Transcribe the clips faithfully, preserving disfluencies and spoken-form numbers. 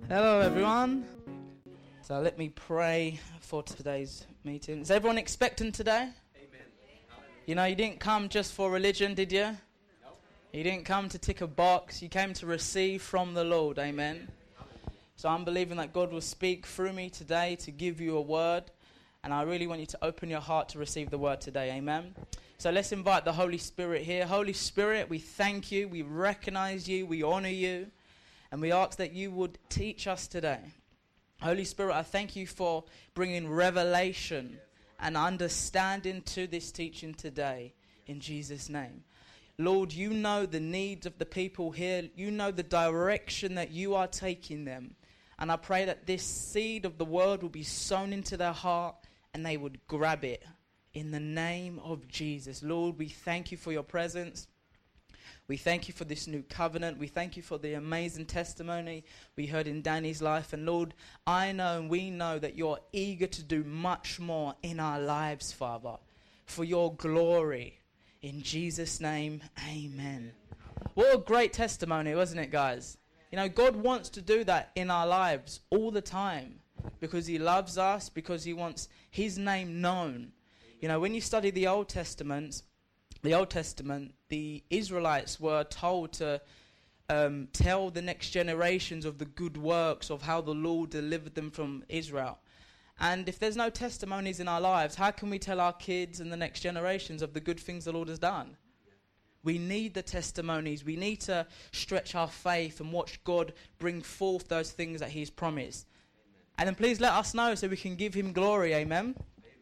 Hello everyone. So let me pray for today's meeting. Is everyone expectant today? Amen. You know, you didn't come just for religion, did you? No. You didn't come to tick a box. You came to receive from the Lord. Amen. Amen. So I'm believing that God will speak through me today to give you a word. And I really want you to open your heart to receive the word today. Amen. So let's invite the Holy Spirit here. Holy Spirit, we thank you. We recognize you. We honor you. And we ask that you would teach us today. Holy Spirit, I thank you for bringing revelation and understanding to this teaching today. In Jesus' name. Lord, you know the needs of the people here. You know the direction that you are taking them. And I pray that this seed of the word will be sown into their heart and they would grab it. In the name of Jesus. Lord, we thank you for your presence. We thank you for this new covenant. We thank you for the amazing testimony we heard in Danny's life. And Lord, I know and we know that you're eager to do much more in our lives, Father, for your glory. In Jesus' name, amen. What a great testimony, wasn't it, guys? You know, God wants to do that in our lives all the time because he loves us, because he wants his name known. You know, when you study the Old Testament, the Old Testament, the Israelites were told to um, tell the next generations of the good works of how the Lord delivered them from Israel. And if there's no testimonies in our lives, how can we tell our kids and the next generations of the good things the Lord has done? We need the testimonies. We need to stretch our faith and watch God bring forth those things that he's promised. Amen. And then please let us know so we can give him glory. Amen.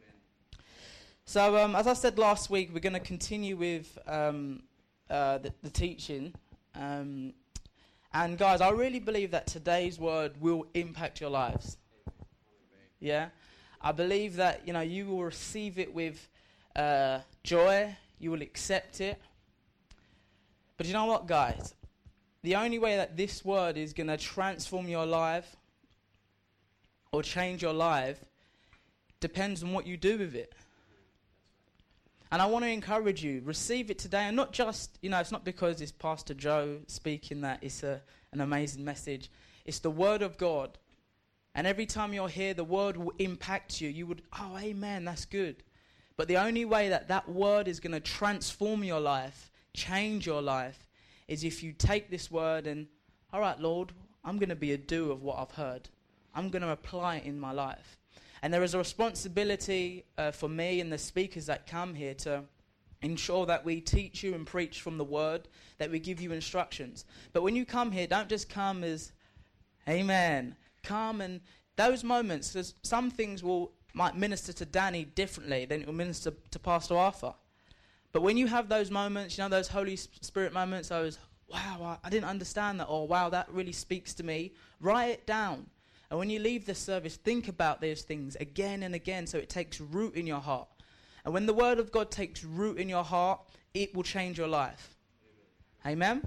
So, um, as I said last week, we're going to continue with um, uh, the, the teaching. Um, and guys, I really believe that today's word will impact your lives. Yeah? I believe that, you know, you will receive it with uh, joy. You will accept it. But you know what, guys? The only way that this word is going to transform your life or change your life depends on what you do with it. And I want to encourage you, receive it today. And not just, you know, it's not because it's Pastor Joe speaking that it's a, an amazing message. It's the word of God. And every time you're here, the word will impact you. You would, oh, amen, that's good. But the only way that that word is going to transform your life, change your life, is if you take this word and, all right, Lord, I'm going to be a doer of what I've heard. I'm going to apply it in my life. And there is a responsibility uh, for me and the speakers that come here to ensure that we teach you and preach from the word, that we give you instructions. But when you come here, don't just come as, amen. Come and those moments, because some things will might minister to Danny differently than it will minister to Pastor Arthur. But when you have those moments, you know, those Holy Spirit moments, those, wow, I, I didn't understand that, or wow, that really speaks to me, write it down. And when you leave the service, think about those things again and again so it takes root in your heart. And when the word of God takes root in your heart, it will change your life. Amen?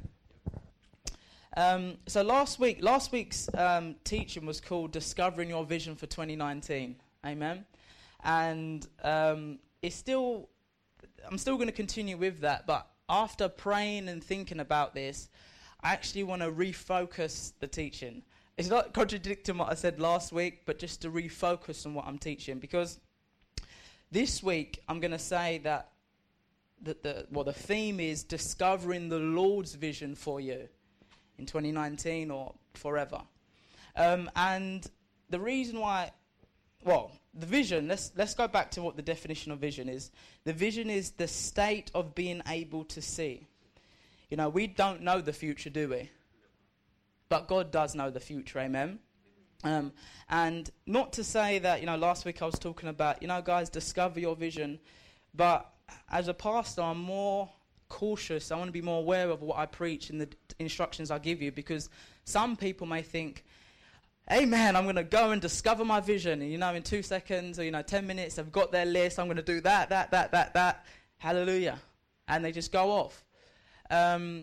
Um, so last week, last week's um, teaching was called Discovering Your Vision for twenty nineteen. Amen? And um, it's still, I'm still going to continue with that. But after praying and thinking about this, I actually want to refocus the teaching. It's not contradicting what I said last week, but just to refocus on what I'm teaching. Because this week, I'm going to say that the, the, well, the theme is discovering the Lord's vision for you in twenty nineteen or forever. Um, and the reason why, well, the vision, let's, let's go back to what the definition of vision is. The vision is the state of being able to see. You know, we don't know the future, do we? But God does know the future, amen? Um, and not to say that, you know, last week I was talking about, you know, guys, discover your vision. But as a pastor, I'm more cautious. I want to be more aware of what I preach and the instructions I give you. Because some people may think, amen, I'm going to go and discover my vision. And, you know, in two seconds or, you know, ten minutes, they've got their list. I'm going to do that, that, that, that, that. Hallelujah. And they just go off. Um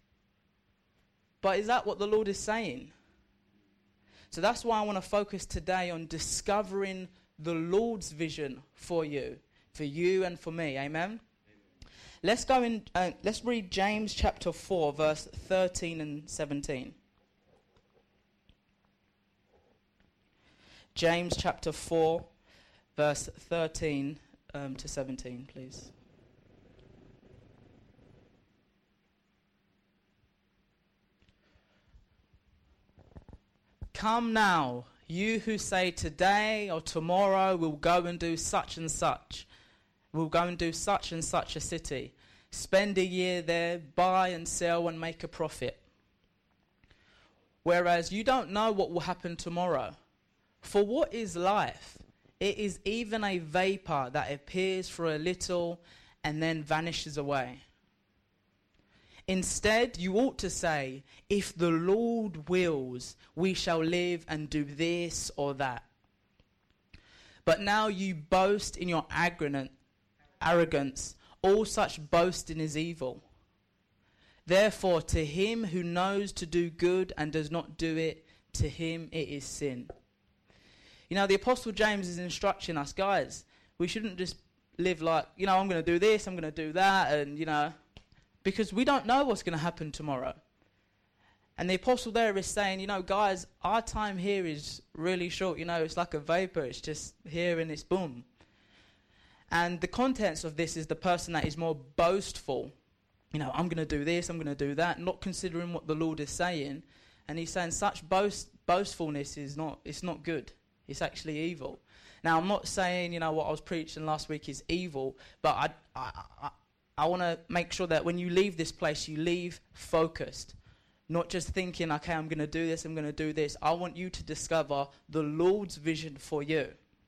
But is that what the Lord is saying? So that's why I want to focus today on discovering the Lord's vision for you, for you and for me. Amen? Amen. Let's go in. Uh, let's read James chapter four, verse thirteen and seventeen. James chapter four, verse thirteen um, to seventeen, please. Come now, you who say today or tomorrow we'll go and do such and such. We'll go and do such and such a city. Spend a year there, buy and sell and make a profit. Whereas you don't know what will happen tomorrow. For what is life? It is even a vapor that appears for a little and then vanishes away. Instead, you ought to say, if the Lord wills, we shall live and do this or that. But now you boast in your arrogance. All such boasting is evil. Therefore, to him who knows to do good and does not do it, to him it is sin. You know, the Apostle James is instructing us, guys, we shouldn't just live like, you know, I'm going to do this, I'm going to do that, and, you know, because we don't know what's going to happen tomorrow. And the apostle there is saying, you know, guys, our time here is really short. You know, it's like a vapor. It's just here and it's boom. And the contents of this is the person that is more boastful. You know, I'm going to do this, I'm going to do that, not considering what the Lord is saying. And he's saying such boast, boastfulness is not, it's not good. It's actually evil. Now, I'm not saying, you know, what I was preaching last week is evil, but I, I, I I want to make sure that when you leave this place, you leave focused. Not just thinking, okay, I'm going to do this, I'm going to do this. I want you to discover the Lord's vision for you.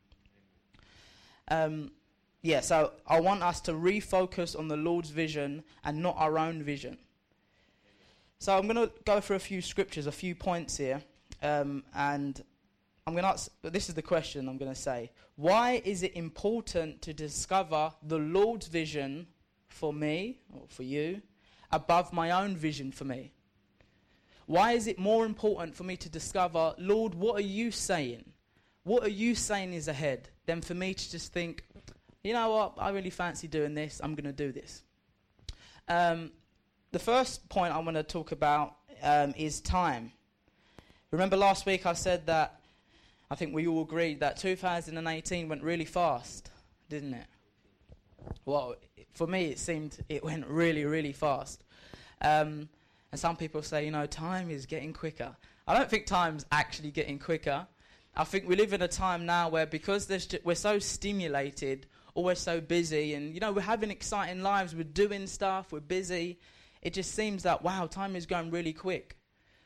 Um, yeah, so I want us to refocus on the Lord's vision and not our own vision. So I'm going to go through a few scriptures, a few points here. Um, and I'm going to ask, this is the question I'm going to say. Why is it important to discover the Lord's vision for me, or for you, above my own vision for me? Why is it more important for me to discover, Lord, what are you saying? What are you saying is ahead, than for me to just think, you know what, I really fancy doing this, I'm going to do this. Um, the first point I want to talk about um, is time. Remember last week I said that, I think we all agreed that two thousand eighteen went really fast, didn't it? Well, for me, it seemed it went really, really fast. Um, and some people say, you know, time is getting quicker. I don't think time's actually getting quicker. I think we live in a time now where because there's ju- we're so stimulated, or we're so busy, and, you know, we're having exciting lives, we're doing stuff, we're busy. It just seems that, wow, time is going really quick.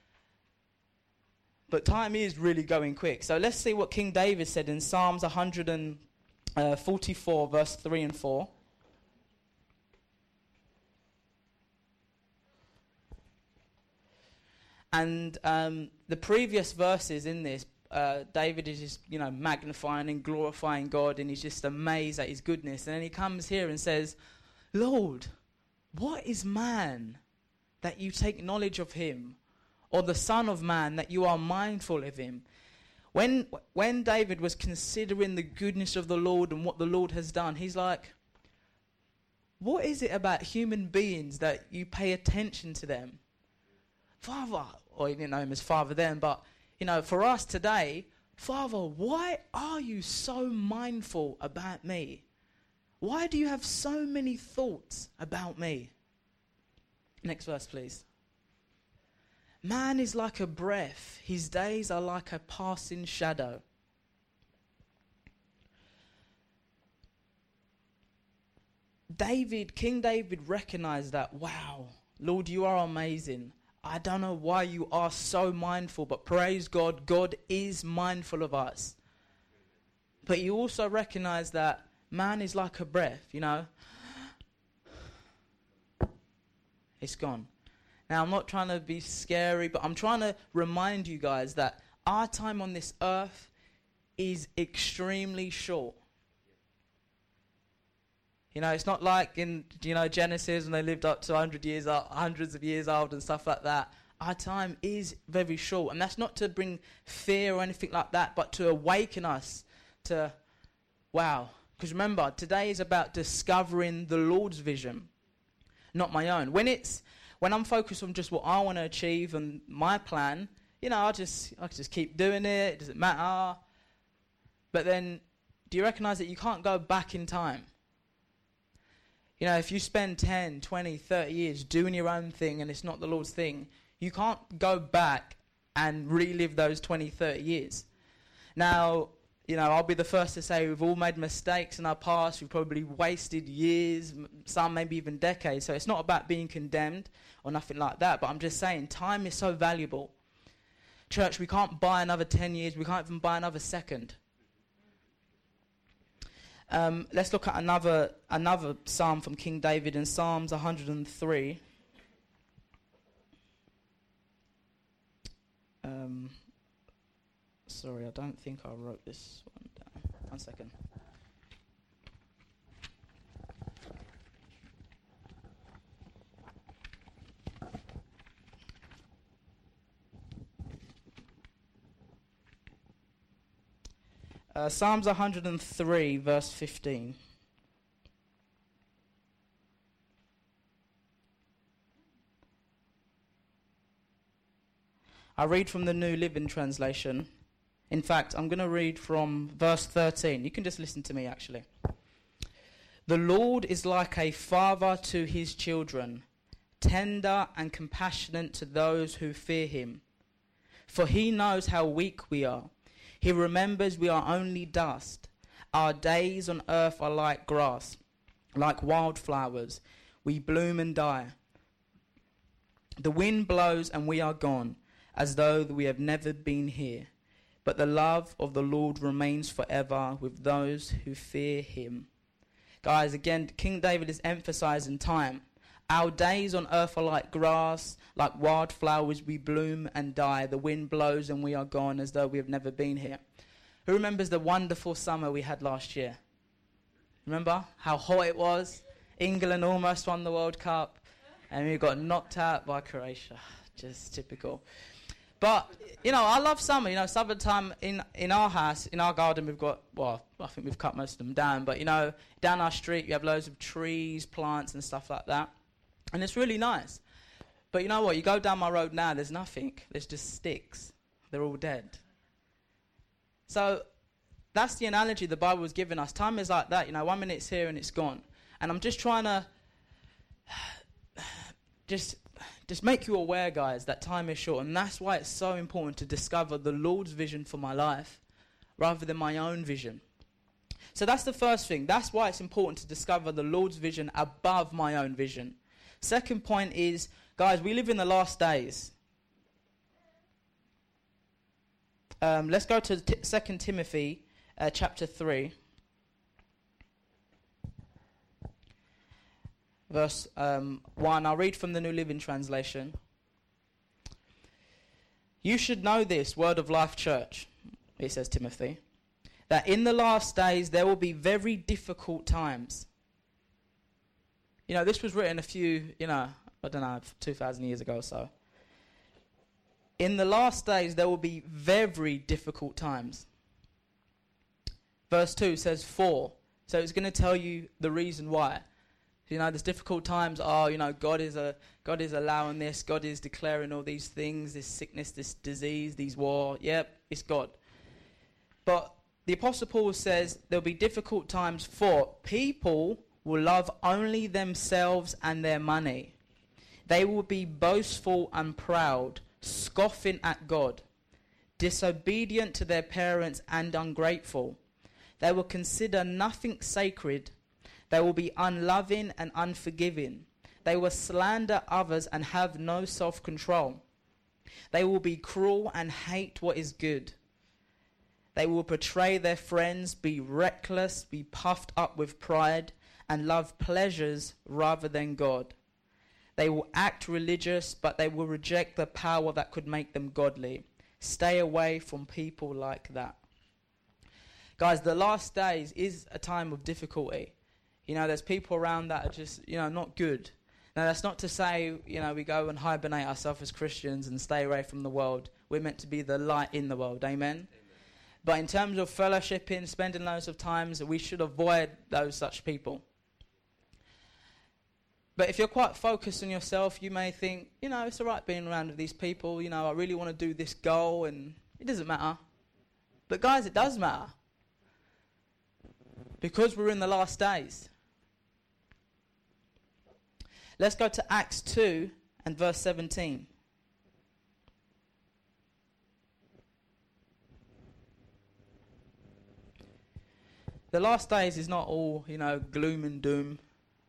But time is really going quick. So let's see what King David said in Psalms one forty-four, verse three and four. And um, the previous verses in this, uh, David is just, you know, magnifying and glorifying God, and he's just amazed at his goodness. And then he comes here and says, Lord, what is man that you take knowledge of him, or the son of man that you are mindful of him? When when David was considering the goodness of the Lord and what the Lord has done, he's like, what is it about human beings that you pay attention to them? Father, or you didn't know him as Father then, but, you know, for us today, Father, why are you so mindful about me? Why do you have so many thoughts about me? Next verse, please. Man is like a breath. His days are like a passing shadow. David, King David recognized that, wow, Lord, you are amazing. I don't know why you are so mindful, but praise God, God is mindful of us. But you also recognize that man is like a breath, you know. It's gone. Now, I'm not trying to be scary, but I'm trying to remind you guys that our time on this earth is extremely short. You know, it's not like in, you know, Genesis when they lived up to one hundred years, uh, hundreds of years old and stuff like that. Our time is very short. And that's not to bring fear or anything like that, but to awaken us to, wow. Because remember, today is about discovering the Lord's vision, not my own. When it's, when I'm focused on just what I want to achieve and my plan, you know, I just, I just keep doing it. It doesn't matter. But then, do you recognize that you can't go back in time? You know, if you spend ten, twenty, thirty years doing your own thing and it's not the Lord's thing, you can't go back and relive those twenty, thirty years. Now, you know, I'll be the first to say we've all made mistakes in our past. We've probably wasted years, some maybe even decades. So it's not about being condemned or nothing like that. But I'm just saying time is so valuable. Church, we can't buy another ten years. We can't even buy another second. Um, let's look at another another psalm from King David in Psalms one hundred three. Um, sorry, I don't think I wrote this one down. One second. Uh, Psalms one hundred three, verse fifteen. I read from the New Living Translation. In fact, I'm going to read from verse thirteen. You can just listen to me, actually. The Lord is like a father to his children, tender and compassionate to those who fear him. For he knows how weak we are. He remembers we are only dust. Our days on earth are like grass, like wildflowers. We bloom and die. The wind blows and we are gone, as though we have never been here. But the love of the Lord remains forever with those who fear him. Guys, again, King David is emphasizing time. Our days on earth are like grass, like wildflowers, we bloom and die. The wind blows and we are gone as though we have never been here. Who remembers the wonderful summer we had last year? Remember how hot it was? England almost won the World Cup and we got knocked out by Croatia. Just typical. But, you know, I love summer. You know, summertime in, in our house, in our garden, we've got, well, I think we've cut most of them down. But, you know, down our street, you have loads of trees, plants and stuff like that. And it's really nice. But you know what? You go down my road now, there's nothing. There's just sticks. They're all dead. So that's the analogy the Bible was giving us. Time is like that. You know, one minute it's here and it's gone. And I'm just trying to just, just make you aware, guys, that time is short. And that's why it's so important to discover the Lord's vision for my life rather than my own vision. So that's the first thing. That's why it's important to discover the Lord's vision above my own vision. Second point is, guys, we live in the last days. Um, let's go to t- Second Timothy uh, chapter three. Verse um, one. I'll read from the New Living Translation. You should know this, Word of Life Church, it says Timothy, that in the last days there will be very difficult times. You know, this was written a few, you know, I don't know, two thousand years ago or so. In the last days, there will be very difficult times. Verse two says for. So it's going to tell you the reason why. You know, there's difficult times. Oh, you know, God is a God is allowing this. God is declaring all these things, this sickness, this disease, these war. Yep, it's God. But the Apostle Paul says there'll be difficult times for people will love only themselves and their money. They will be boastful and proud, scoffing at God, disobedient to their parents and ungrateful. They will consider nothing sacred. They will be unloving and unforgiving. They will slander others and have no self-control. They will be cruel and hate what is good. They will betray their friends, be reckless, be puffed up with pride, and love pleasures rather than God. They will act religious, but they will reject the power that could make them godly. Stay away from people like that. Guys, the last days is a time of difficulty. You know, there's people around that are just, you know, not good. Now, that's not to say, you know, we go and hibernate ourselves as Christians and stay away from the world. We're meant to be the light in the world. Amen? Amen. But in terms of fellowshipping, spending loads of times, we should avoid those such people. But if you're quite focused on yourself, you may think, you know, it's all right being around with these people. You know, I really want to do this goal, and it doesn't matter. But guys, it does matter. Because we're in the last days. Let's go to Acts two and verse seventeen. The last days is not all, you know, gloom and doom.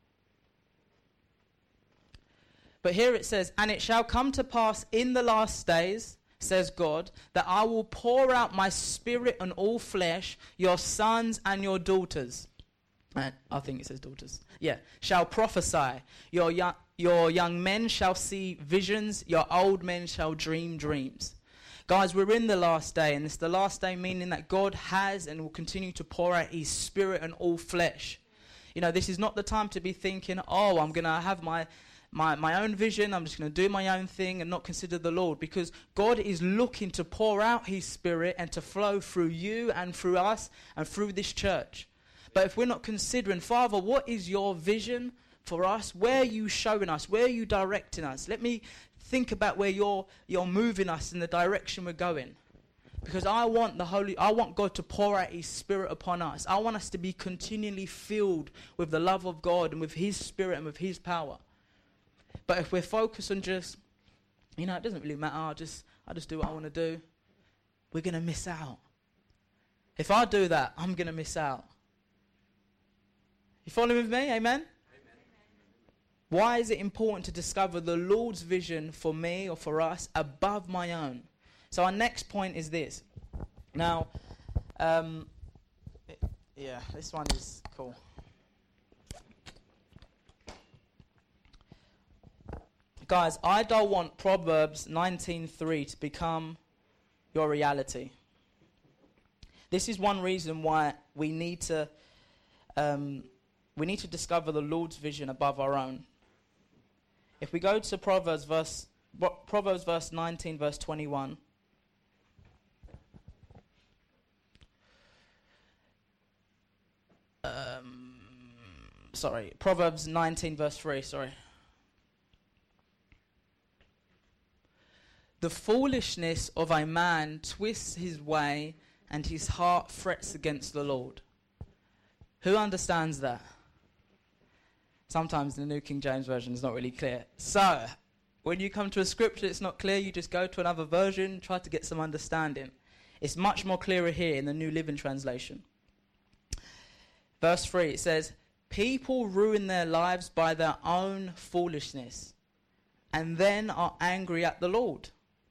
But here it says, "And it shall come to pass in the last days, says God, that I will pour out my spirit on all flesh, your sons and your daughters." And I think it says daughters. Yeah. "Shall prophesy. Your young, your young men shall see visions. Your old men shall dream dreams." Guys, we're in the last day, and it's the last day meaning that God has and will continue to pour out his spirit on all flesh. You know, this is not the time to be thinking, oh, I'm going to have my, my, my own vision, I'm just going to do my own thing and not consider the Lord. Because God is looking to pour out his spirit and to flow through you and through us and through this church. But if we're not considering, Father, what is your vision for us? Where are you showing us? Where are you directing us? Let me think about where you're you're moving us in the direction we're going. Because I want the Holy, I want God to pour out his spirit upon us. I want us to be continually filled with the love of God and with his spirit and with his power. But if we're focused on just, you know, it doesn't really matter, I just, I just do what I want to do, we're going to miss out. If I do that, I'm going to miss out. You following with me? Amen? Why is it important to discover the Lord's vision for me or for us above my own? So our next point is this. Now, um, it, yeah, this one is cool. Guys, I don't want Proverbs nineteen three to become your reality. This is one reason why we need to um, we need to discover the Lord's vision above our own. If we go to Proverbs verse Proverbs verse nineteen, verse twenty-one. Um, sorry, Proverbs nineteen, verse three, sorry. "The foolishness of a man twists his way, and his heart frets against the Lord." Who understands that? Sometimes the New King James Version is not really clear. So, when you come to a scripture it's not clear, you just go to another version, try to get some understanding. It's much more clearer here in the New Living Translation. Verse three, it says, "People ruin their lives by their own foolishness, and then are angry at the Lord."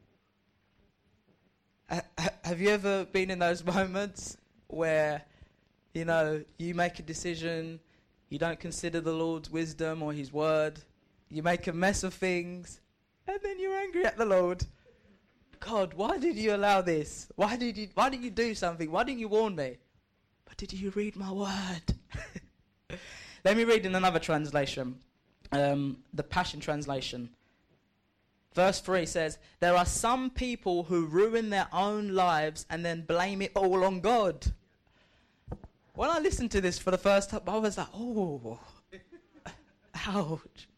Uh, have you ever been in those moments where, you know, you make a decision, you don't consider the Lord's wisdom or his word, you make a mess of things, and then you're angry at the Lord? God, why did you allow this? Why did you, why did you do something? Why didn't you warn me? But did you read my word? Let me read in another translation, um, the Passion Translation. Verse three says, "There are some people who ruin their own lives and then blame it all on God." When I listened to this for the first time, I was like, oh, ouch.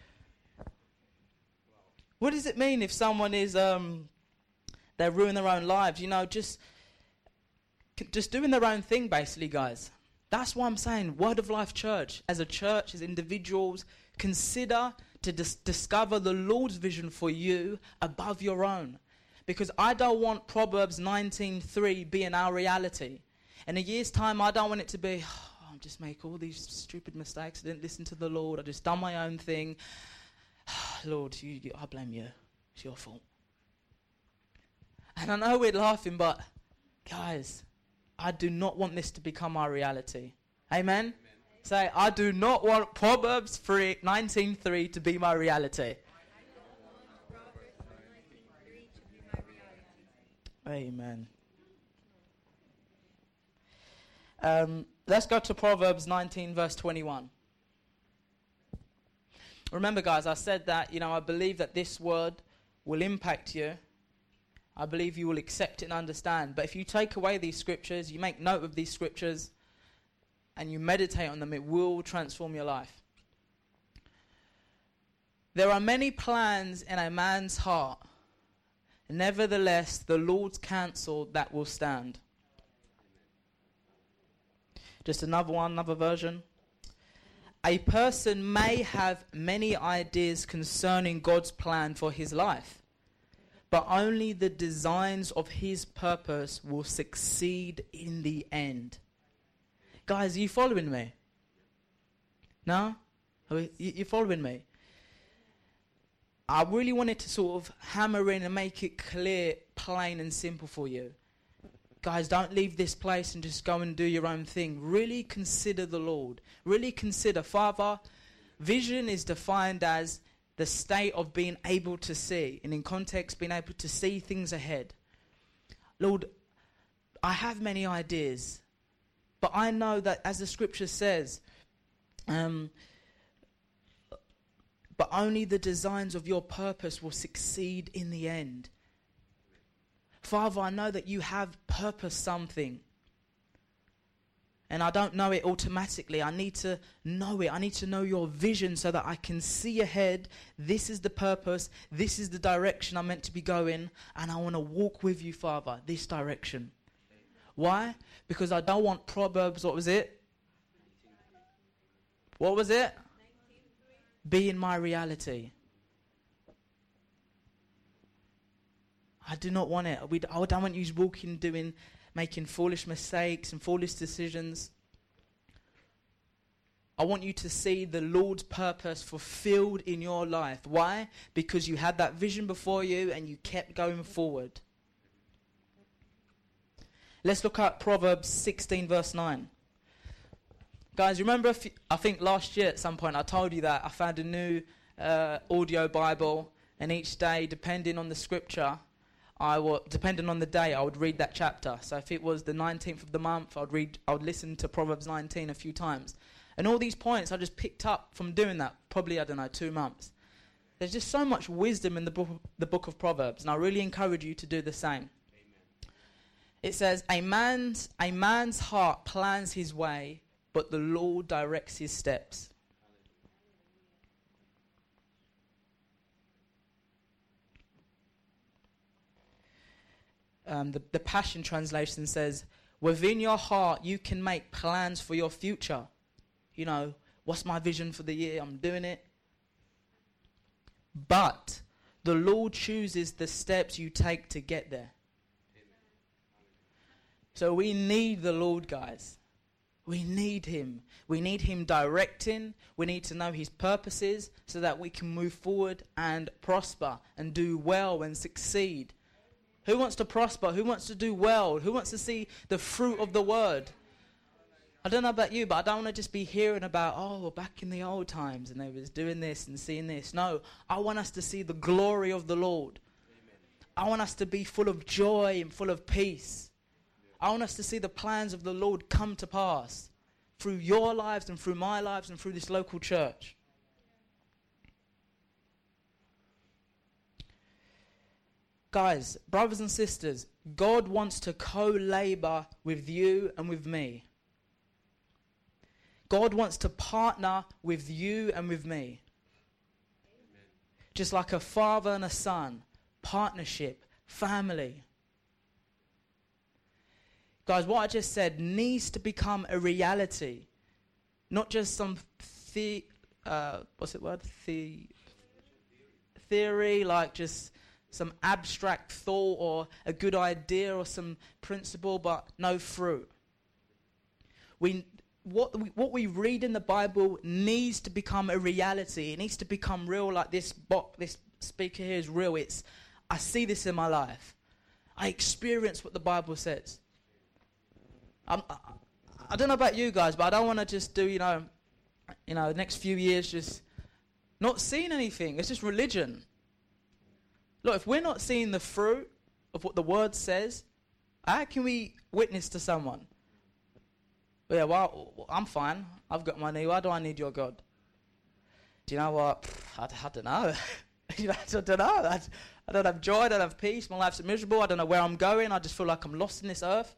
What does it mean if someone is, um, they ruin their own lives? You know, just, just doing their own thing, basically, guys. That's why I'm saying Word of Life Church, as a church, as individuals, consider to dis- discover the Lord's vision for you above your own. Because I don't want Proverbs nineteen three being our reality. In a year's time, I don't want it to be, oh, I just make all these stupid mistakes, I didn't listen to the Lord, I just done my own thing. Lord, you, you, I blame you. It's your fault. And I know we're laughing, but guys, I do not want this to become our reality. Amen? Amen. Say, I do not want Proverbs nineteen three to be my reality. Amen. Um, let's go to Proverbs nineteen, verse twenty-one. Remember, guys, I said that, you know, I believe that this word will impact you. I believe you will accept it and understand. But if you take away these scriptures, you make note of these scriptures, and you meditate on them, it will transform your life. "There are many plans in a man's heart. Nevertheless, the Lord's counsel that will stand." Just another one, another version. A person may have many ideas concerning God's plan for his life, but only the designs of his purpose will succeed in the end. Guys, are you following me? No? Are you, you following me? I really wanted to sort of hammer in and make it clear, plain and simple for you. Guys, don't leave this place and just go and do your own thing. Really consider the Lord. Really consider, Father, vision is defined as the state of being able to see. And in context, being able to see things ahead. Lord, I have many ideas. But I know that as the scripture says, um, but only the designs of your purpose will succeed in the end. Father, I know that you have purposed something. And I don't know it automatically. I need to know it. I need to know your vision so that I can see ahead. This is the purpose. This is the direction I'm meant to be going. And I want to walk with you, Father, this direction. Why? Because I don't want Proverbs, what was it? What was it? Being my reality. I do not want it. We, I don't want you walking, doing, making foolish mistakes and foolish decisions. I want you to see the Lord's purpose fulfilled in your life. Why? Because you had that vision before you and you kept going forward. Let's look at Proverbs sixteen verse nine. Guys, remember, if you, I think last year at some point I told you that I found a new uh, audio Bible, and each day, depending on the scripture, I will, depending on the day, I would read that chapter. So if it was the nineteenth of the month, I would read, I would listen to Proverbs nineteen a few times. And all these points I just picked up from doing that, probably, I don't know, two months. There's just so much wisdom in the book, the book of Proverbs, and I really encourage you to do the same. It says, a man's, a man's heart plans his way, but the Lord directs his steps. Um, the, the Passion Translation says, within your heart you can make plans for your future. You know, what's my vision for the year? I'm doing it. But the Lord chooses the steps you take to get there. So we need the Lord, guys. We need him. We need him directing. We need to know his purposes so that we can move forward and prosper and do well and succeed. Who wants to prosper? Who wants to do well? Who wants to see the fruit of the word? I don't know about you, but I don't want to just be hearing about, oh, back in the old times and they was doing this and seeing this. No, I want us to see the glory of the Lord. Amen. I want us to be full of joy and full of peace. I want us to see the plans of the Lord come to pass through your lives and through my lives and through this local church. Guys, brothers and sisters, God wants to co-labor with you and with me. God wants to partner with you and with me. Amen. Just like a father and a son, partnership, family. Guys, what I just said needs to become a reality. Not just some the, uh, what's it word? The theory, like just some abstract thought or a good idea or some principle, but no fruit. We, what we, what we read in the Bible needs to become a reality. It needs to become real, like this bo- this speaker here is real. It's, I see this in my life. I experience what the Bible says. I'm, I, I don't know about you guys, but I don't want to just do, you know, you know, the next few years just not seeing anything. It's just religion. Look, if we're not seeing the fruit of what the word says, how can we witness to someone? Yeah, well, I'm fine. I've got money. Why do I need your God? Do you know what? I, I don't know. I don't know. I, I don't have joy. I don't have peace. My life's miserable. I don't know where I'm going. I just feel like I'm lost in this earth.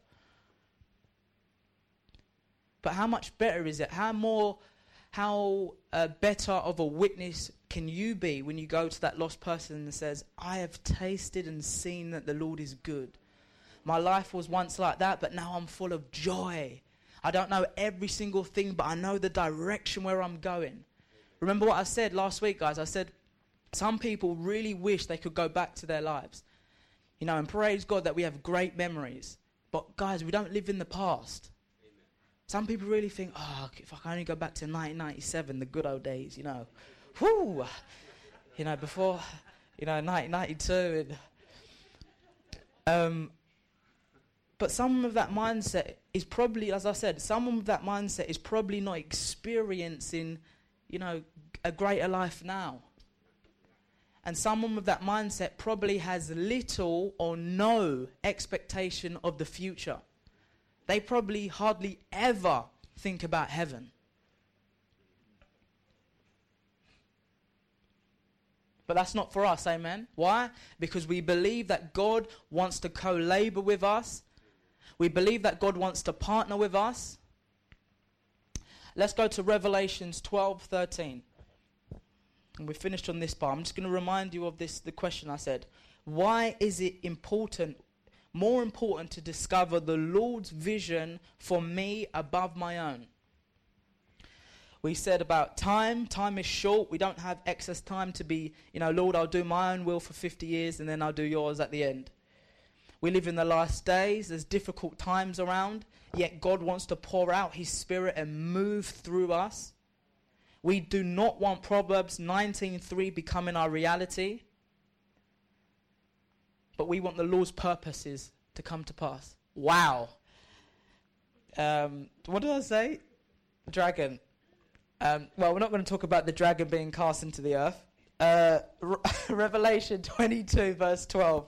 But how much better is it? How more, how uh, better of a witness can you be when you go to that lost person and says, I have tasted and seen that the Lord is good. My life was once like that, but now I'm full of joy. I don't know every single thing, but I know the direction where I'm going. Remember what I said last week, guys? I said some people really wish they could go back to their lives. You know, and praise God that we have great memories. But guys, we don't live in the past. Amen. Some people really think, oh, if I can only go back to nineteen ninety-seven, the good old days, you know. Whoo! You know, before, you know, nineteen ninety-two. And, um, but some of that mindset is probably, as I said, some of that mindset is probably not experiencing, you know, a greater life now. And someone with that mindset probably has little or no expectation of the future. They probably hardly ever think about heaven. But that's not for us, amen? Why? Because we believe that God wants to co-labor with us. We believe that God wants to partner with us. Let's go to Revelations twelve thirteen. And we finished on this part. I'm just going to remind you of this, the question I said. Why is it important, more important to discover the Lord's vision for me above my own? We said about time. Time is short. We don't have excess time to be, you know, Lord, I'll do my own will for fifty years and then I'll do yours at the end. We live in the last days. There's difficult times around. Yet God wants to pour out his spirit and move through us. We do not want Proverbs nineteen three becoming our reality. But we want the Lord's purposes to come to pass. Wow. Um, what did I say? Dragon. Um, well, we're not going to talk about the dragon being cast into the earth. Uh, Re- Revelation twenty-two verse twelve.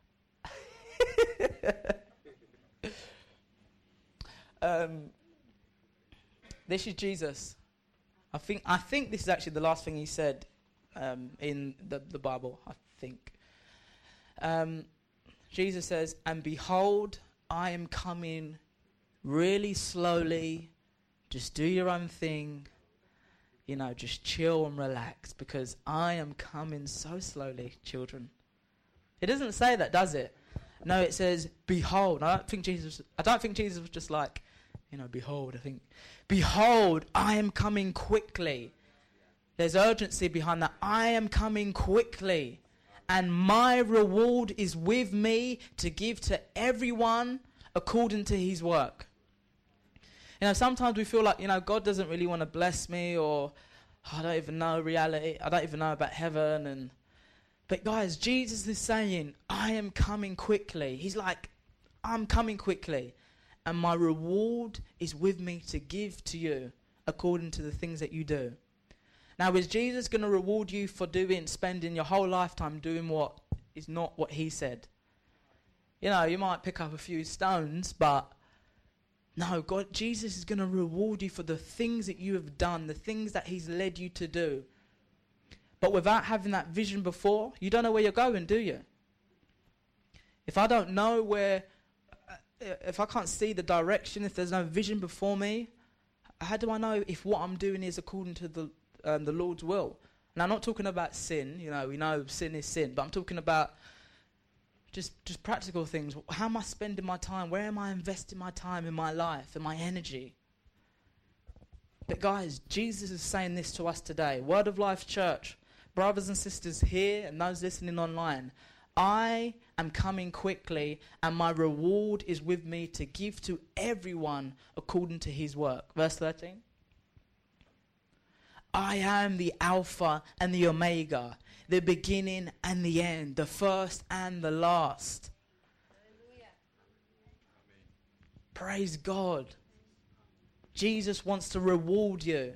um, this is Jesus. I think I think this is actually the last thing he said um, in the, the Bible, I think. Um, Jesus says, and behold, I am coming really slowly. Just do your own thing. You know, just chill and relax because I am coming so slowly, children. It doesn't say that, does it? No, it says, behold. I don't think Jesus, I don't think Jesus was just like, you know, behold. I think, behold, I am coming quickly. There's urgency behind that. I am coming quickly. And my reward is with me to give to everyone according to his work. You know, sometimes we feel like, you know, God doesn't really want to bless me, or oh, I don't even know reality. I don't even know about heaven. And But guys, Jesus is saying, I am coming quickly. He's like, I'm coming quickly. And my reward is with me to give to you according to the things that you do. Now, is Jesus going to reward you for doing, spending your whole lifetime doing what is not what he said? You know, you might pick up a few stones, but no, God, Jesus is going to reward you for the things that you have done, the things that he's led you to do. But without having that vision before, you don't know where you're going, do you? If I don't know where, uh, if I can't see the direction, if there's no vision before me, how do I know if what I'm doing is according to the um, the Lord's will? And I'm not talking about sin. You know, we know sin is sin, but I'm talking about just just practical things. How am I spending my time? Where am I investing my time in my life and my energy? But guys, Jesus is saying this to us today. Word of Life Church, brothers and sisters here and those listening online, I am coming quickly and my reward is with me to give to everyone according to his work. Verse thirteen. I am the Alpha and the Omega, the beginning and the end, the first and the last. Hallelujah. Praise God. Jesus wants to reward you.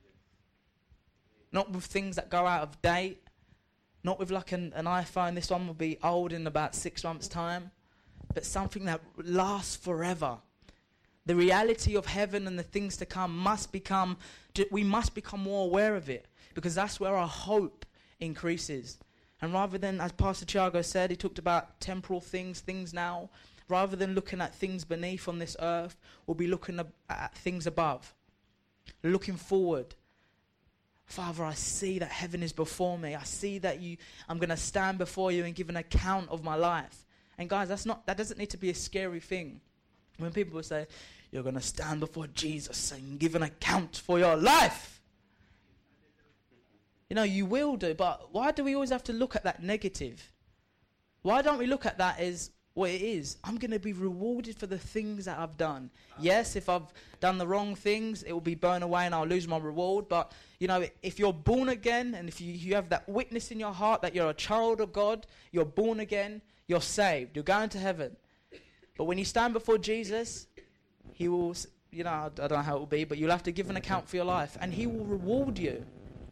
Not with things that go out of date. Not with like an, an iPhone. This one will be old in about six months' time. But something that lasts forever. The reality of heaven and the things to come must become, we must become more aware of it. Because that's where our hope increases. And rather than, as Pastor Thiago said, he talked about temporal things, things now. Rather than looking at things beneath on this earth, we'll be looking ab- at things above. Looking forward. Father, I see that heaven is before me. I see that you, I'm going to stand before you and give an account of my life. And guys, that's not, that doesn't need to be a scary thing. When people will say, You're going to stand before Jesus and give an account for your life. You know, you will do, but why do we always have to look at that negative? Why don't we look at that as what it is? I'm going to be rewarded for the things that I've done. Yes, if I've done the wrong things, it will be burned away and I'll lose my reward. But, you know, if you're born again and if you, you have that witness in your heart that you're a child of God, you're born again, you're saved, you're going to heaven. But when you stand before Jesus, he will, you know, I don't know how it will be, but you'll have to give an account for your life and he will reward you.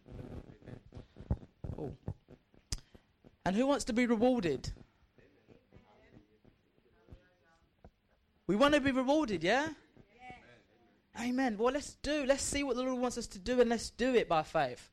Oh. And who wants to be rewarded? We want to be rewarded, yeah? Yeah. Amen. Well, let's do. Let's see what the Lord wants us to do, and let's do it by faith.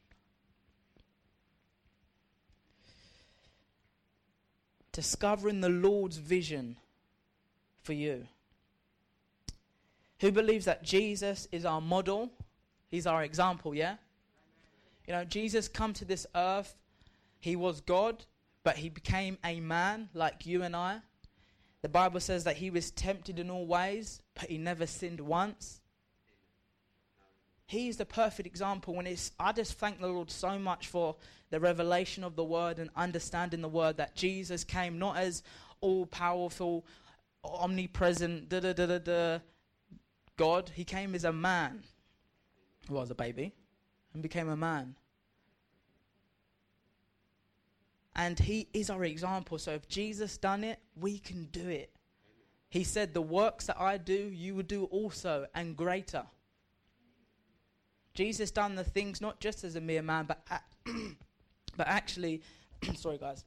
Discovering the Lord's vision for you. Who believes that Jesus is our model? He's our example, yeah? You know, Jesus come to this earth. He was God, but he became a man like you and I. The Bible says that he was tempted in all ways, but he never sinned once. He's the perfect example. When it's, I just thank the Lord so much for the revelation of the word and understanding the word, that Jesus came not as all-powerful, omnipresent, da-da-da-da-da God. He came as a man who was a baby and became a man. And he is our example. So if Jesus done it, we can do it. He said, the works that I do, you will do also, and greater. Jesus done the things not just as a mere man, but a- but actually, sorry guys.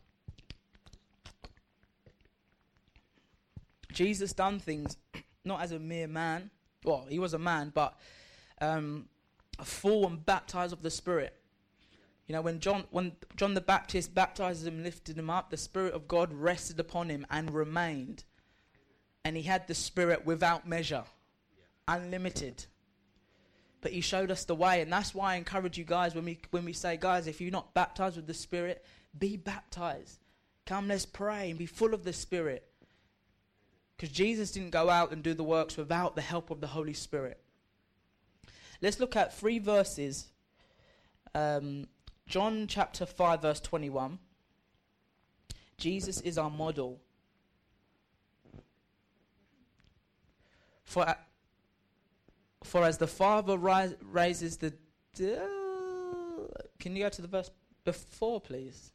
Jesus done things not as a mere man. Well, he was a man, but um, full and baptized of the Spirit. You know, when John when John the Baptist baptized him, lifted him up, the Spirit of God rested upon him and remained. And he had the Spirit without measure, unlimited. But he showed us the way, and that's why I encourage you guys when we when we say, guys, if you're not baptized with the Spirit, be baptized. Come, let's pray and be full of the Spirit. Because Jesus didn't go out and do the works without the help of the Holy Spirit. Let's look at three verses. Um, John chapter five verse twenty-one. Jesus is our model. For, uh, for as the Father ri- raises the... Uh, can you go to the verse before, please?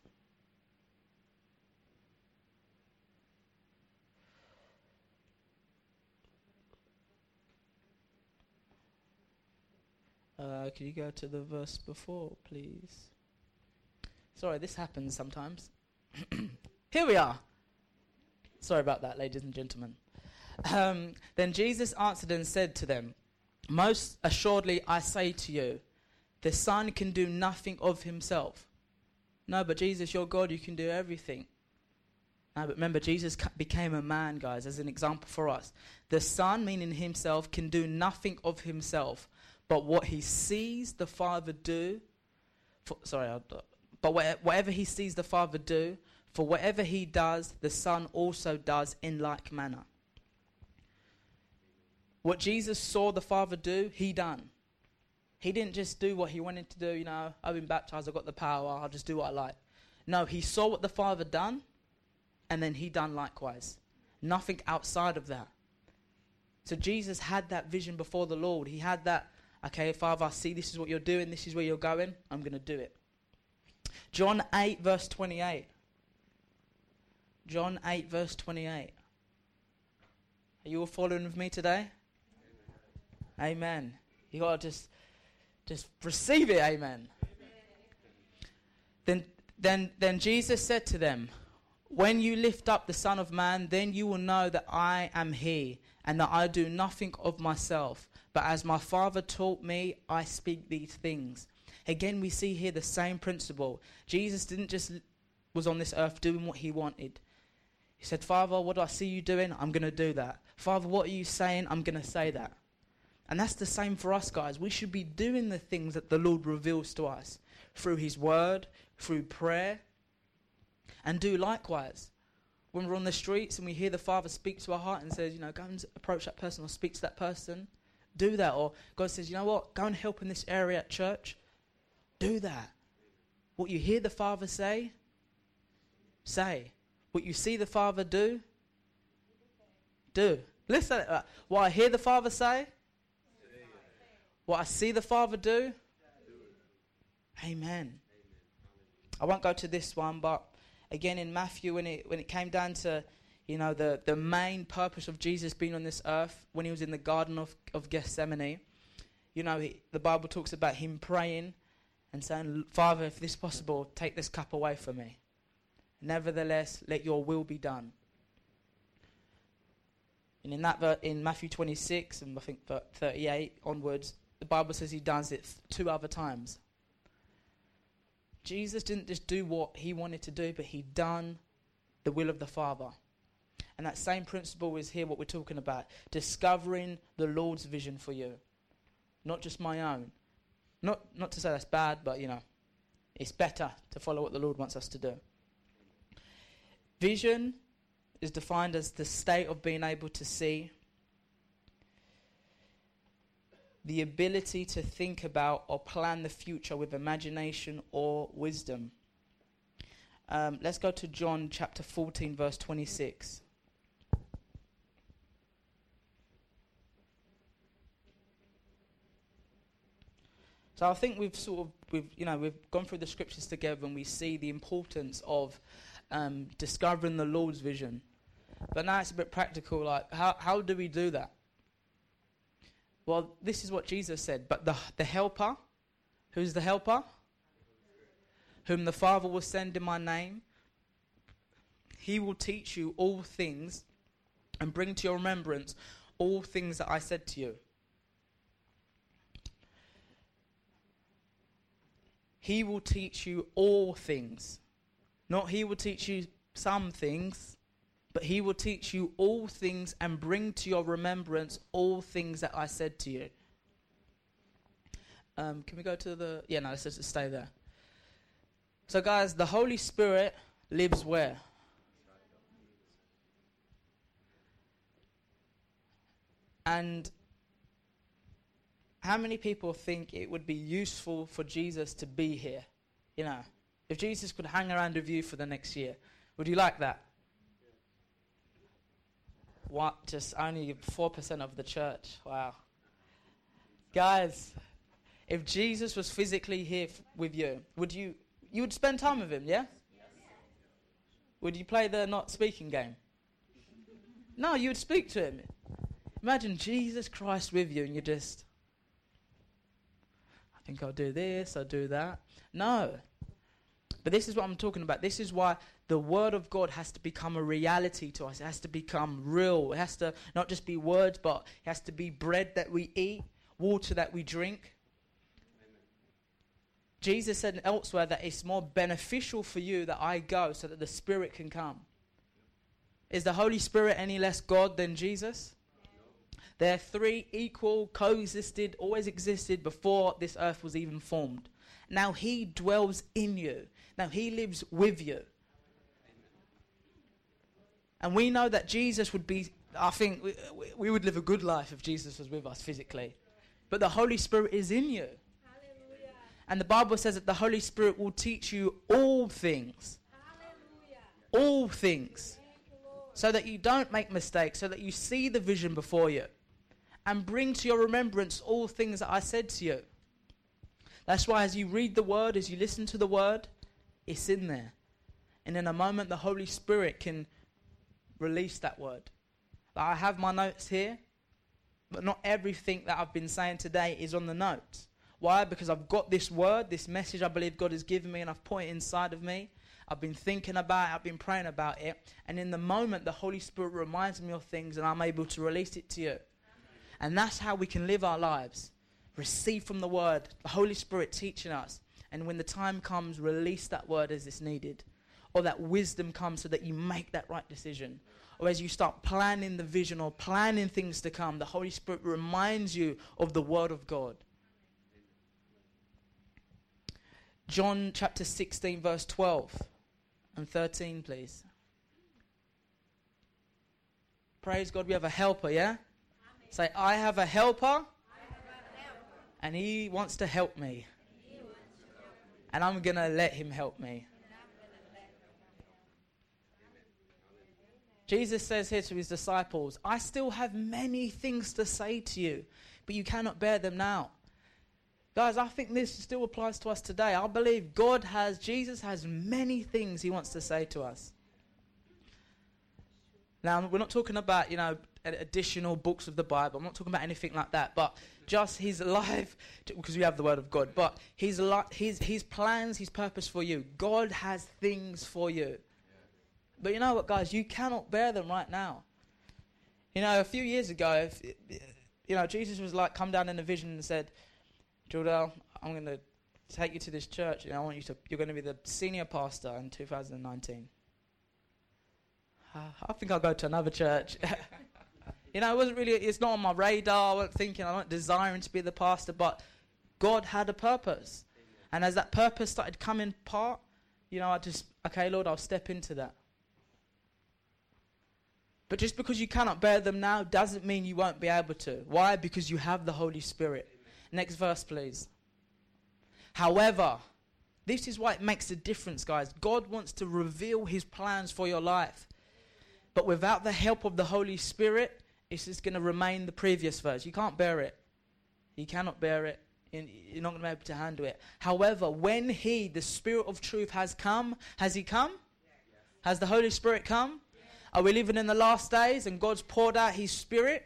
Uh, can you go to the verse before, please? Sorry, this happens sometimes. Here we are. Sorry about that, ladies and gentlemen. Um, then Jesus answered and said to them, most assuredly I say to you, the Son can do nothing of himself. No, but Jesus, you're God, you can do everything. No, but remember, Jesus ca- became a man, guys, as an example for us. The Son, meaning himself, can do nothing of himself, but what he sees the Father do, for, sorry, I'll, but wha- whatever he sees the Father do, for whatever he does, the Son also does in like manner. What Jesus saw the Father do, he done. He didn't just do what he wanted to do, you know, I've been baptized, I've got the power, I'll just do what I like. No, he saw what the Father done, and then he done likewise. Nothing outside of that. So Jesus had that vision before the Lord. He had that, okay, Father, I see this is what you're doing, this is where you're going, I'm going to do it. John eight verse twenty-eight. John eight verse twenty-eight. Are you all following with me today? Amen. Amen. You got to just, just receive it, amen. Amen. Then, then, then Jesus said to them, when you lift up the Son of Man, then you will know that I am he, and that I do nothing of myself, but as my Father taught me, I speak these things. Again, we see here the same principle. Jesus didn't just was on this earth doing what he wanted. He said, Father, what do I see you doing? I'm going to do that. Father, what are you saying? I'm going to say that. And that's the same for us, guys. We should be doing the things that the Lord reveals to us through his word, through prayer, and do likewise. when we're on the streets and we hear the Father speak to our heart and says, you know, go and approach that person or speak to that person, do that. Or God says, you know what, go and help in this area at church, do that. What you hear the Father say, say. What you see the Father do, do. Listen, uh, what I hear the Father say, what I see the Father do, amen. I won't go to this one, but again in Matthew, when it when it came down to, you know, the, the main purpose of Jesus being on this earth, when he was in the Garden of, of Gethsemane, you know, he, the Bible talks about him praying and saying, Father, if this is possible, take this cup away from me. Nevertheless, let your will be done. And in that ver- in Matthew twenty-six and I think thirty-eight onwards, the Bible says he does it th- two other times. Jesus didn't just do what he wanted to do, but he done the will of the Father. And that same principle is here what we're talking about. Discovering the Lord's vision for you. Not just my own. Not not to say that's bad, but you know, it's better to follow what the Lord wants us to do. Vision is defined as the state of being able to see, the ability to think about or plan the future with imagination or wisdom. Um, let's go to John chapter fourteen, verse twenty-six. So I think we've sort of, we've, you know, we've gone through the scriptures together and we see the importance of um, discovering the Lord's vision. But now it's a bit practical, like how how do we do that? Well, this is what Jesus said. But the the helper, who's the helper? Whom the Father will send in my name. He will teach you all things and bring to your remembrance all things that I said to you. He will teach you all things. Not he will teach you some things, but he will teach you all things and bring to your remembrance all things that I said to you. Um, can we go to the... Yeah, no, let's just stay there. So guys, the Holy Spirit lives where? And how many people think it would be useful for Jesus to be here? You know, if Jesus could hang around with you for the next year, would you like that? What? Just only four percent of the church. Wow. Guys, if Jesus was physically here f- with you, would you, you would spend time with him, yeah? Yes. Would you play the not speaking game? No, you would speak to him. Imagine Jesus Christ with you and you just, I think I'll do this, I'll do that. No. But this is what I'm talking about. This is why the Word of God has to become a reality to us. It has to become real. It has to not just be words, but it has to be bread that we eat, water that we drink. Amen. Jesus said elsewhere that it's more beneficial for you that I go so that the Spirit can come. Is the Holy Spirit any less God than Jesus? They're three equal, coexisted, always existed before this earth was even formed. Now he dwells in you. Now he lives with you. And we know that Jesus would be, I think we, we would live a good life if Jesus was with us physically. But the Holy Spirit is in you. Hallelujah. And the Bible says that the Holy Spirit will teach you all things. Hallelujah. All things. So that you don't make mistakes, so that you see the vision before you. And bring to your remembrance all things that I said to you. That's why as you read the word, as you listen to the word, it's in there. And in a moment, the Holy Spirit can release that word. Like I have my notes here, but not everything that I've been saying today is on the notes. Why? Because I've got this word, this message I believe God has given me, and I've put it inside of me. I've been thinking about it, I've been praying about it, and in the moment, the Holy Spirit reminds me of things, and I'm able to release it to you. And that's how we can live our lives. Receive from the word, the Holy Spirit teaching us. And when the time comes, release that word as it's needed. Or that wisdom comes so that you make that right decision. Or as you start planning the vision or planning things to come, the Holy Spirit reminds you of the word of God. John chapter sixteen verse twelve and thirteen, please. Praise God, we have a helper, yeah? Amen. Say, I have a helper, I have a helper. And he wants to help me. And, to help me. And I'm going to let him help me. Jesus says here to his disciples, I still have many things to say to you, but you cannot bear them now. Guys, I think this still applies to us today. I believe God has, Jesus has many things he wants to say to us. Now, we're not talking about, you know, additional books of the Bible. I'm not talking about anything like that, but just his life, because we have the word of God, but his, li- his, his plans, his purpose for you. God has things for you. But you know what, guys? You cannot bear them right now. You know, a few years ago, if, you know, Jesus was like, come down in a vision and said, Jordell, I'm going to take you to this church, and I want you to, you're going to be the senior pastor in two thousand nineteen. Uh, I think I'll go to another church. You know, it wasn't really, it's not on my radar. I wasn't thinking, I'm not desiring to be the pastor, but God had a purpose. And as that purpose started coming part, you know, I just, okay, Lord, I'll step into that. But just because you cannot bear them now doesn't mean you won't be able to. Why? Because you have the Holy Spirit. Next verse, please. However, this is why it makes a difference, guys. God wants to reveal his plans for your life. But without the help of the Holy Spirit, it's just going to remain the previous verse. You can't bear it. You cannot bear it. You're not going to be able to handle it. However, when he, the Spirit of truth, has come, has he come? Yes. Has the Holy Spirit come? Are we living in the last days and God's poured out his Spirit?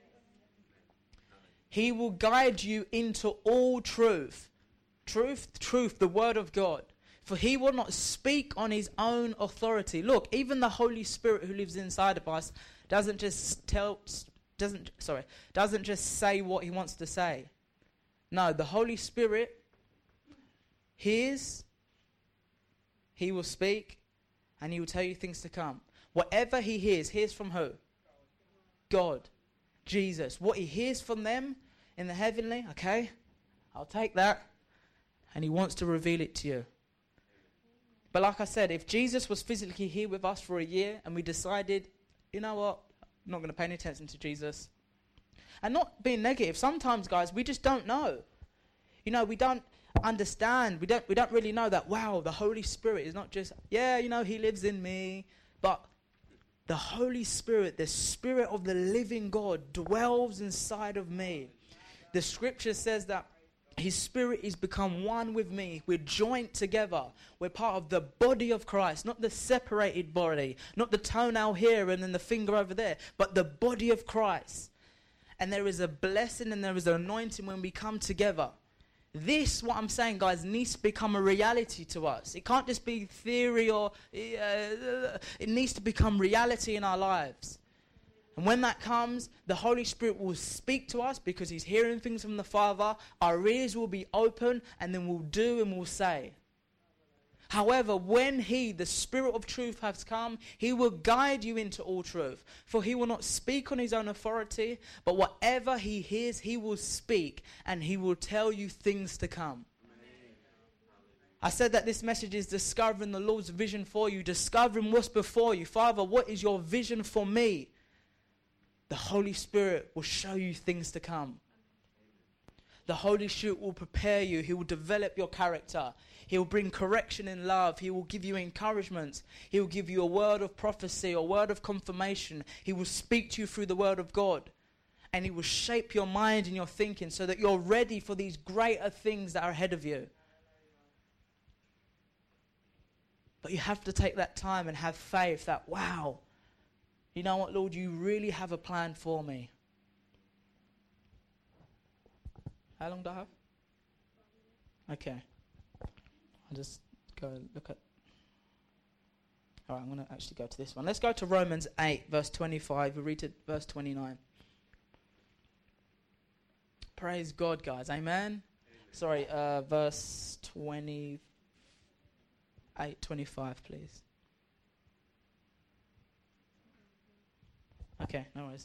He will guide you into all truth. Truth, truth, the word of God. For he will not speak on his own authority. Look, even the Holy Spirit who lives inside of us doesn't just tell, doesn't, sorry, doesn't just say what he wants to say. No, the Holy Spirit hears, he will speak, and he will tell you things to come. Whatever he hears, hears from who? God. Jesus. What he hears from them in the heavenly, okay, I'll take that. And he wants to reveal it to you. But like I said, if Jesus was physically here with us for a year and we decided, you know what, I'm not going to pay any attention to Jesus. And not being negative, sometimes, guys, we just don't know. You know, we don't understand. We don't, we don't really know that, wow, the Holy Spirit is not just, yeah, you know, he lives in me. But the Holy Spirit, the Spirit of the living God, dwells inside of me. The scripture says that his Spirit is become one with me. We're joined together. We're part of the body of Christ, not the separated body, not the toenail here and then the finger over there, but the body of Christ. And there is a blessing and there is an anointing when we come together. This, what I'm saying, guys, needs to become a reality to us. It can't just be theory or... Uh, it needs to become reality in our lives. And when that comes, the Holy Spirit will speak to us because he's hearing things from the Father. Our ears will be open and then we'll do and we'll say. However, when he, the Spirit of truth, has come, he will guide you into all truth. For he will not speak on his own authority, but whatever he hears, he will speak, and he will tell you things to come. Amen. I said that this message is discovering the Lord's vision for you, discovering what's before you. Father, what is your vision for me? The Holy Spirit will show you things to come. The Holy Spirit will prepare you. He will develop your character. He will bring correction in love. He will give you encouragement. He will give you a word of prophecy, a word of confirmation. He will speak to you through the word of God. And he will shape your mind and your thinking so that you're ready for these greater things that are ahead of you. But you have to take that time and have faith that, wow, you know what, Lord, you really have a plan for me. How long do I have? Okay. I'll just go and look at... All right, I'm going to actually go to this one. Let's go to Romans eight, verse twenty-five. We read to verse twenty-nine. Praise God, guys. Amen? Amen. Sorry, uh, verse twenty-eight, twenty-five, please. Okay, no worries.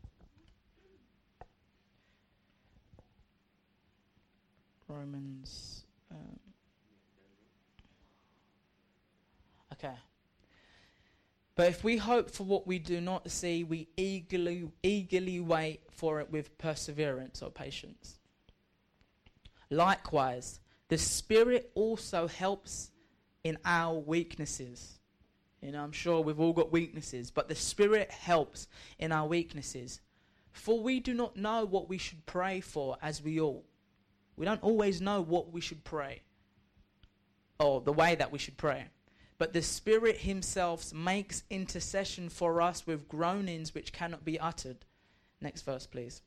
Romans... Um, okay. But if we hope for what we do not see, we eagerly, eagerly wait for it with perseverance or patience. Likewise, the Spirit also helps in our weaknesses. You know, I'm sure we've all got weaknesses, but the Spirit helps in our weaknesses. For we do not know what we should pray for as we ought. We don't always know what we should pray, or the way that we should pray. But the Spirit himself makes intercession for us with groanings which cannot be uttered. Next verse, please.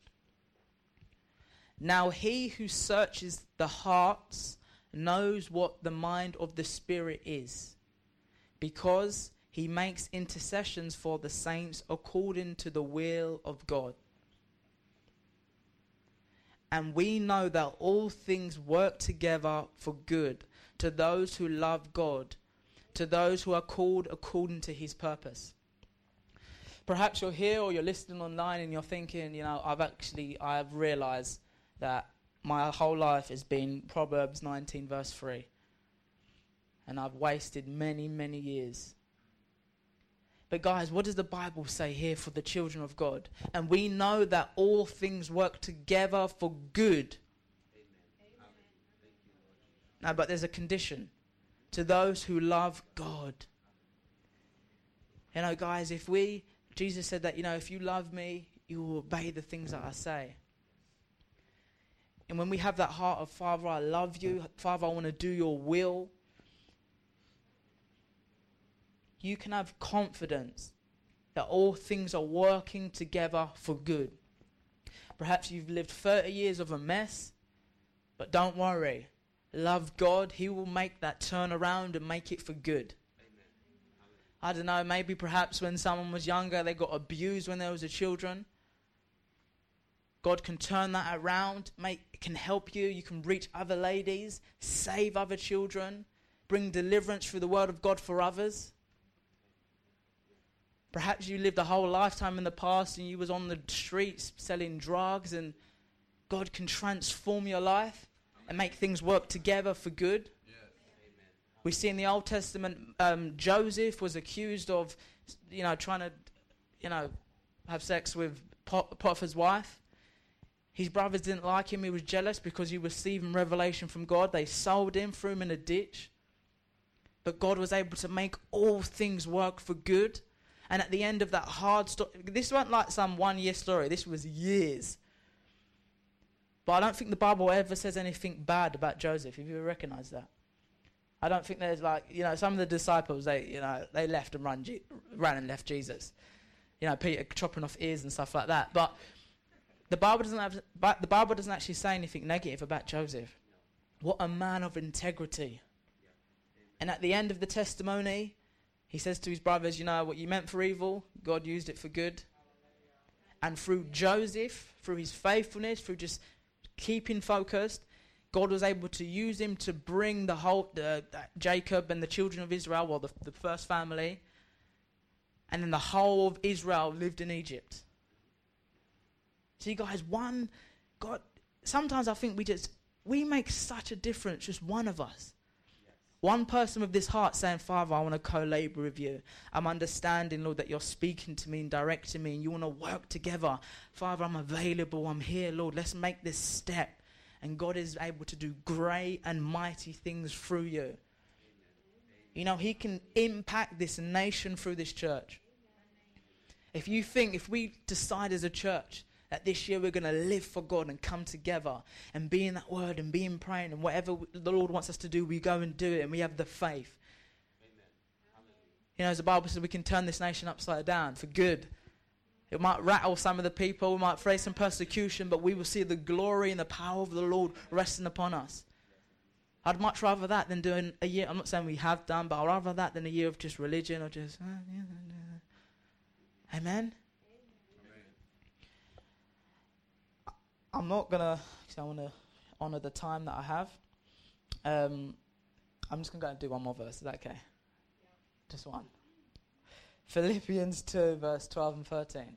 Now he who searches the hearts knows what the mind of the Spirit is, because he makes intercessions for the saints according to the will of God. And we know that all things work together for good to those who love God, to those who are called according to his purpose. Perhaps you're here or you're listening online and you're thinking, you know, I've actually, I've realized that my whole life has been Proverbs nineteen verse three. And I've wasted many, many years. But guys, what does the Bible say here for the children of God? And we know that all things work together for good. Amen. No, but there's a condition. To those who love God. You know, guys, if we, Jesus said that, you know, if you love me, you will obey the things that I say. And when we have that heart of, Father, I love you, Father, I want to do your will, you can have confidence that all things are working together for good. Perhaps you've lived thirty years of a mess, but don't worry. Love God, he will make that turn around and make it for good. Amen. I don't know, maybe perhaps when someone was younger, they got abused when they was a children. God can turn that around, make, can help you. You can reach other ladies, save other children, bring deliverance through the word of God for others. Perhaps you lived a whole lifetime in the past and you was on the streets selling drugs, and God can transform your life and make things work together for good. Yes. We see in the Old Testament, um, Joseph was accused of, you know, trying to, you know, have sex with Pot- Potiphar's wife. His brothers didn't like him. He was jealous because he was receiving revelation from God. They sold him, threw him in a ditch. But God was able to make all things work for good. And at the end of that hard story, this wasn't like some one-year story. This was years. But I don't think the Bible ever says anything bad about Joseph. Have you ever recognized that? I don't think there's like, you know, some of the disciples, they, you know, they left and run, G- ran and left Jesus. You know, Peter chopping off ears and stuff like that. But the Bible doesn't have, but the Bible doesn't actually say anything negative about Joseph. What a man of integrity. And at the end of the testimony, he says to his brothers, you know, what you meant for evil, God used it for good. And through Joseph, through his faithfulness, through just keeping focused, God was able to use him to bring the whole, uh, Jacob and the children of Israel, well, the, the first family, and then the whole of Israel lived in Egypt. See, guys, one, God, sometimes I think we just, we make such a difference, just one of us. One person with this heart saying, Father, I want to co-labor with you. I'm understanding, Lord, that you're speaking to me and directing me and you want to work together. Father, I'm available. I'm here, Lord. Let's make this step. And God is able to do great and mighty things through you. Amen. You know, he can impact this nation through this church. If you think, if we decide as a church that this year we're going to live for God and come together and be in that word and be in praying and whatever the Lord wants us to do, we go and do it and we have the faith. Amen. You know, as the Bible says, we can turn this nation upside down for good. It might rattle some of the people, we might face some persecution, but we will see the glory and the power of the Lord resting upon us. I'd much rather that than doing a year, I'm not saying we have done, but I'd rather that than a year of just religion or just... Uh, yeah, yeah. Amen? I'm not going to, because I want to honour the time that I have. Um, I'm just going to go and do one more verse. Is that okay? Yeah. Just one. Philippians two, verse twelve and thirteen.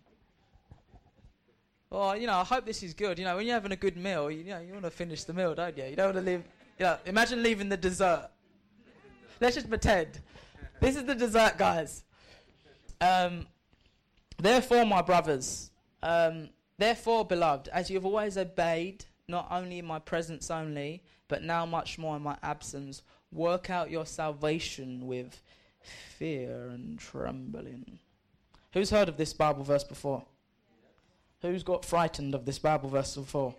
Well, you know, I hope this is good. You know, when you're having a good meal, you, you know, you want to finish the meal, don't you? You don't want to leave, you know, imagine leaving the dessert. Let's just pretend. This is the dessert, guys. Um, therefore, my brothers, um, therefore, beloved, as you have always obeyed, not only in my presence only, but now much more in my absence, work out your salvation with fear and trembling. Who's heard of this Bible verse before? Who's got frightened of this Bible verse before?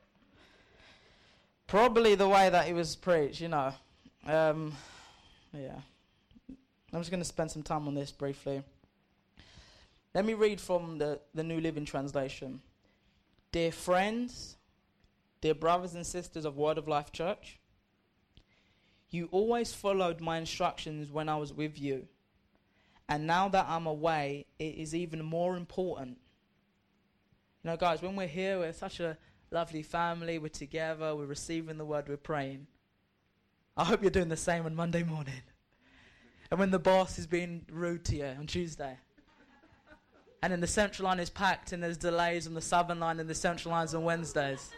Probably the way that it was preached, you know. Um, yeah. I'm just going to spend some time on this briefly. Let me read from the, the New Living Translation. Dear friends, dear brothers and sisters of Word of Life Church, you always followed my instructions when I was with you. And now that I'm away, it is even more important. You know, guys, when we're here, we're such a lovely family. We're together. We're receiving the word. We're praying. I hope you're doing the same on Monday morning. And when the boss is being rude to you on Tuesday. And then the central line is packed and there's delays on the southern line and the central lines on Wednesdays.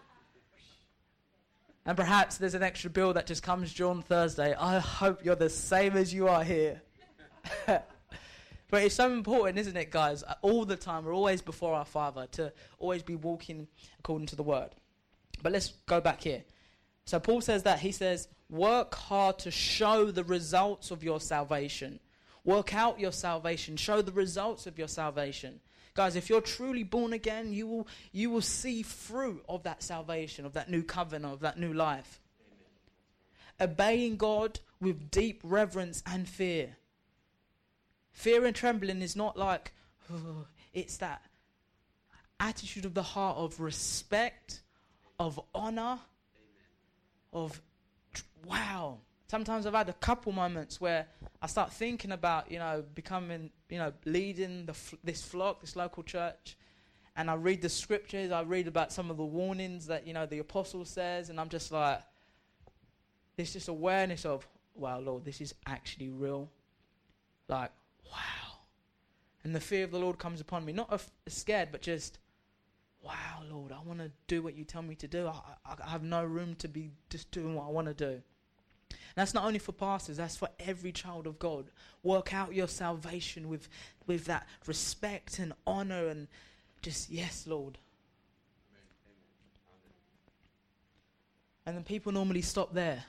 And perhaps there's an extra bill that just comes due on Thursday. I hope you're the same as you are here. But it's so important, isn't it, guys? All the time, we're always before our Father, to always be walking according to the Word. But let's go back here. So Paul says that, he says, work hard to show the results of your salvation. Work out your salvation. Show the results of your salvation. Guys, if you're truly born again, you will you will see fruit of that salvation, of that new covenant, of that new life. Amen. Obeying God with deep reverence and fear. Fear and trembling is not like, oh, it's that attitude of the heart of respect, of honor, of tr- wow. Sometimes I've had a couple moments where I start thinking about, you know, becoming, you know, leading the f- this flock, this local church, and I read the scriptures, I read about some of the warnings that, you know, the apostle says, and I'm just like, there's just awareness of, wow, Lord, this is actually real. Like, wow. And the fear of the Lord comes upon me. Not af- scared, but just, wow, Lord, I want to do what you tell me to do. I, I, I have no room to be just doing what I want to do. And that's not only for pastors, that's for every child of God. Work out your salvation with, with that respect and honor and just, yes, Lord. Amen. Amen. And then people normally stop there.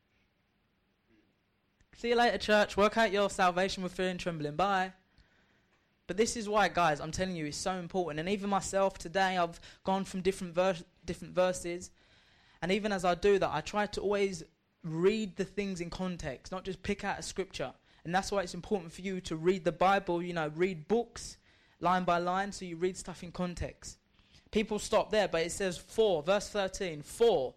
See you later, church. Work out your salvation with fear and trembling. Bye. But this is why, guys, I'm telling you, it's so important. And even myself today, I've gone from different vers- different verses. And even as I do that, I try to always read the things in context, not just pick out a scripture. And that's why it's important for you to read the Bible, you know, read books line by line, so you read stuff in context. People stop there, but it says for, verse thirteen, for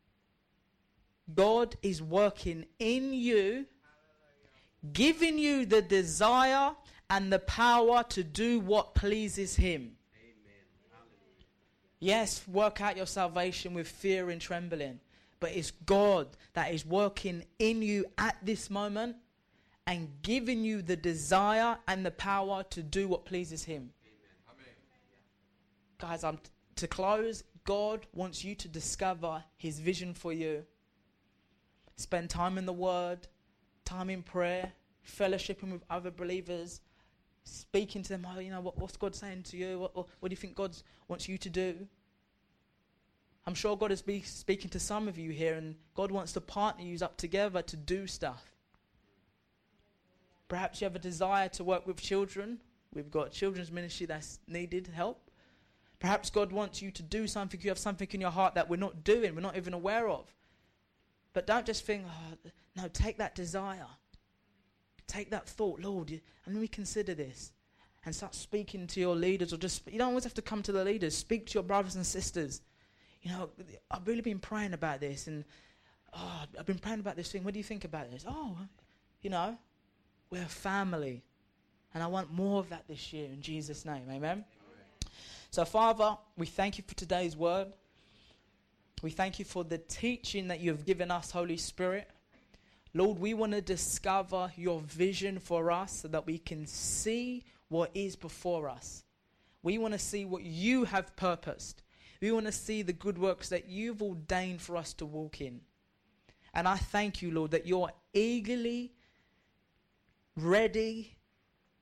God is working in you, giving you the desire and the power to do what pleases him. Amen. Yes, work out your salvation with fear and trembling. But it's God that is working in you at this moment and giving you the desire and the power to do what pleases him. Amen. Guys, I'm t- to close, God wants you to discover his vision for you. Spend time in the Word, time in prayer, fellowshipping with other believers, speaking to them. Oh, you know, what, what's God saying to you? What, what, what do you think God wants you to do? I'm sure God is be speaking to some of you here, and God wants to partner you up together to do stuff. Perhaps you have a desire to work with children. We've got children's ministry that's needed help. Perhaps God wants you to do something. You have something in your heart that we're not doing, we're not even aware of. But don't just think, oh, no, take that desire. Take that thought, Lord, you, and let me consider this. And start speaking to your leaders, or just, you don't always have to come to the leaders. Speak to your brothers and sisters. You know, I've really been praying about this, and oh, I've been praying about this thing. What do you think about this? Oh, you know, we're a family, and I want more of that this year in Jesus' name. Amen? Amen. So, Father, we thank you for today's word. We thank you for the teaching that you have given us, Holy Spirit. Lord, we want to discover your vision for us so that we can see what is before us. We want to see what you have purposed. We want to see the good works that you've ordained for us to walk in. And I thank you, Lord, that you're eagerly ready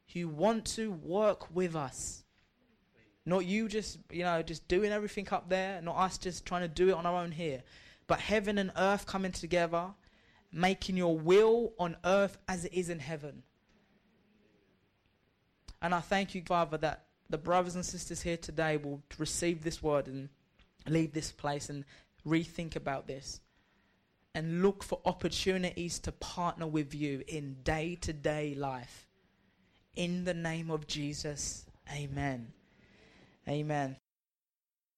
who want to work with us. Not you just, you know, just doing everything up there, not us just trying to do it on our own here, but heaven and earth coming together, making your will on earth as it is in heaven. And I thank you, Father, that the brothers and sisters here today will receive this word and leave this place and rethink about this and look for opportunities to partner with you in day-to-day life. In the name of Jesus, amen. Amen.